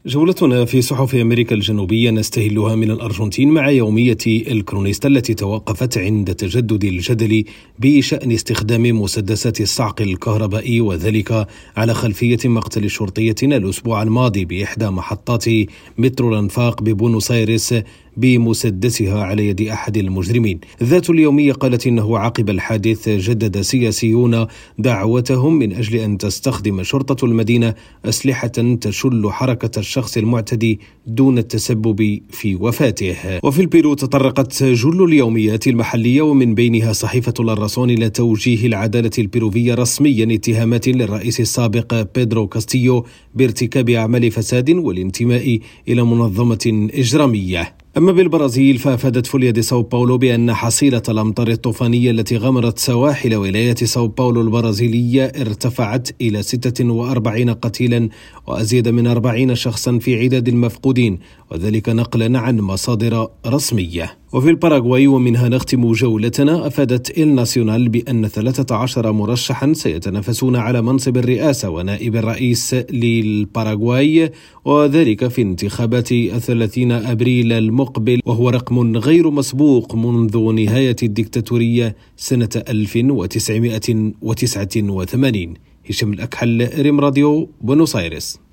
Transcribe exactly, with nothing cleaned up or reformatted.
جولتنا في صحف أمريكا الجنوبية نستهلها من الأرجنتين مع يومية الكرونيستا التي توقفت عند تجدد الجدل بشأن استخدام مسدسات الصعق الكهربائي، وذلك على خلفية مقتل شرطية الأسبوع الماضي بإحدى محطات مترو الأنفاق ببونوس آيرس بمسدسها على يد أحد المجرمين. ذات اليومية قالت إنه عقب الحادث جدد سياسيون دعوتهم من أجل أن تستخدم شرطة المدينة أسلحة تشل حركة الشخص المعتدي دون التسبب في وفاته. وفي البيرو تطرقت جل اليوميات المحلية ومن بينها صحيفة الراسون إلى توجيه العدالة البيروفية رسميا اتهامات للرئيس السابق بيدرو كاستيو بارتكاب أعمال فساد والانتماء إلى منظمة إجرامية. أما بالبرازيل فأفادت فوليا دي ساو باولو بأن حصيلة الأمطار الطوفانية التي غمرت سواحل ولاية ساو باولو البرازيلية ارتفعت إلى ستة وأربعين قتيلا وأزيد من أربعين شخصا في عداد المفقودين، وذلك نقلا عن مصادر رسمية. وفي الباراغواي ومنها نختم جولتنا، أفادت إل ناسيونال بأن ثلاثة عشر مرشحا سيتنافسون على منصب الرئاسة ونائب الرئيس للباراغواي، وذلك في انتخابات الثلاثين أبريل المقبل، وهو رقم غير مسبوق منذ نهاية الديكتاتورية سنة ألف وتسعمائة وتسعة وثمانين. هشام الأكحل، ريم راديو، بونوس آيرس.